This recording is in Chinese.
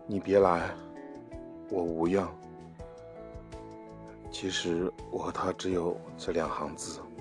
你别来，我无恙。其实我和他只有这2行字。